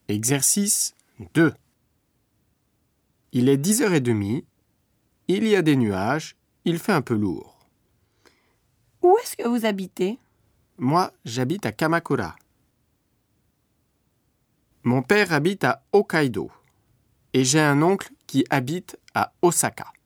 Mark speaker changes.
Speaker 1: Exercice 2. Il est 10h30, il y a des nuages, il fait un peu lourd.
Speaker 2: Où est-ce que vous habitez ?
Speaker 1: Moi, j'habite à Kamakura. Mon père habite à Hokkaido et j'ai un oncle qui habite à Osaka.